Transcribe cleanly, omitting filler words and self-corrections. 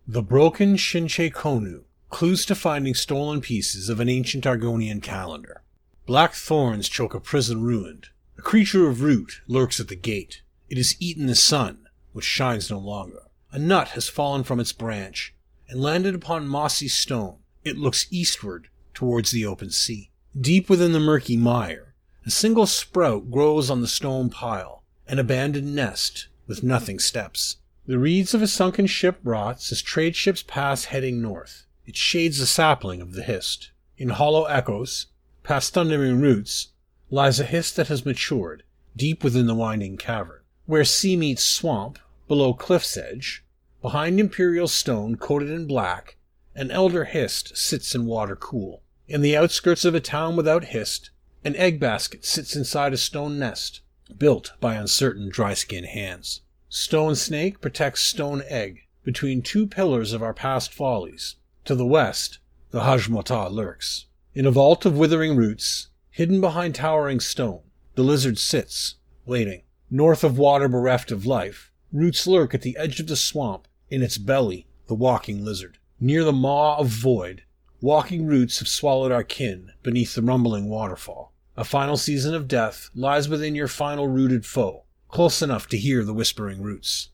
The broken Shinche Konu, clues to finding stolen pieces of an ancient Argonian calendar. Black thorns choke a prison ruined. A creature of root lurks at the gate. It has eaten the sun, which shines no longer. A nut has fallen from its branch, and landed upon mossy stone. It looks eastward, towards the open sea. Deep within the murky mire, a single sprout grows on the stone pile, an abandoned nest with nothing steps. The reeds of a sunken ship rots as trade ships pass heading north. It shades the sapling of the Hist. In hollow echoes, past thundering roots, lies a Hist that has matured, deep within the winding cavern. Where sea meets swamp, below cliff's edge, behind imperial stone coated in black, an elder Hist sits in water cool. In the outskirts of a town without Hist, an egg basket sits inside a stone nest, built by uncertain dry-skinned hands. Stone snake protects stone egg between two pillars of our past follies. To the west, the Hajmota lurks. In a vault of withering roots, hidden behind towering stone, the lizard sits, waiting. North of water bereft of life, roots lurk at the edge of the swamp, in its belly, the walking lizard. Near the maw of void, walking roots have swallowed our kin beneath the rumbling waterfall. A final season of death lies within your final rooted foe, close enough to hear the whispering roots.